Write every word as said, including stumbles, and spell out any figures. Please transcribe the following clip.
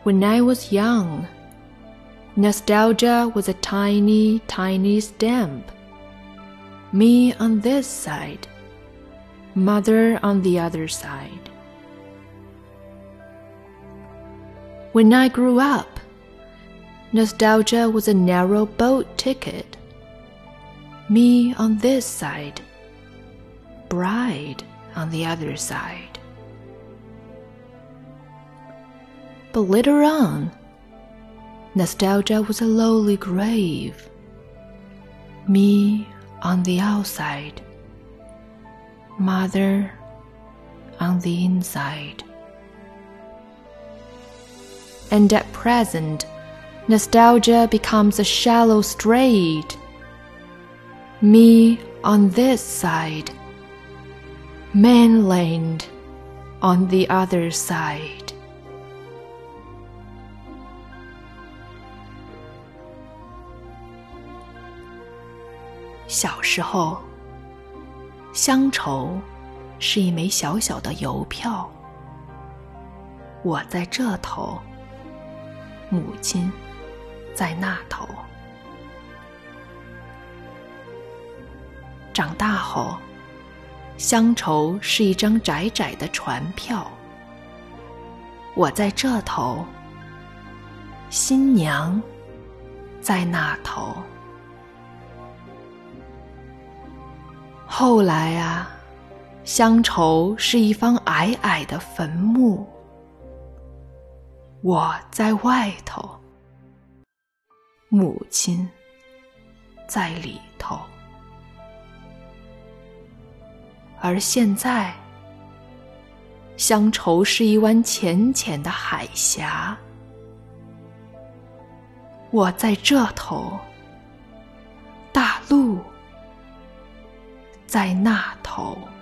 When I was young, nostalgia was a tiny, tiny stamp. Me on this side, mother on the other side. When I grew up, nostalgia was a narrow boat ticket. Me on this side, bride on the other side. But later on, nostalgia was a lowly grave. Me on the outside, mother on the inside. And at present, nostalgia becomes a shallow strait. Me on this side, mainland on the other side. 小时候，乡愁是一枚小小的邮票，我在这头，母亲在那头。长大后，乡愁是一张窄窄的船票，我在这头，新娘在那头。后来啊，乡愁是一方矮矮的坟墓，我在外头，母亲在里头。而现在，乡愁是一湾浅浅的海峡，我在这头，大陆在那头。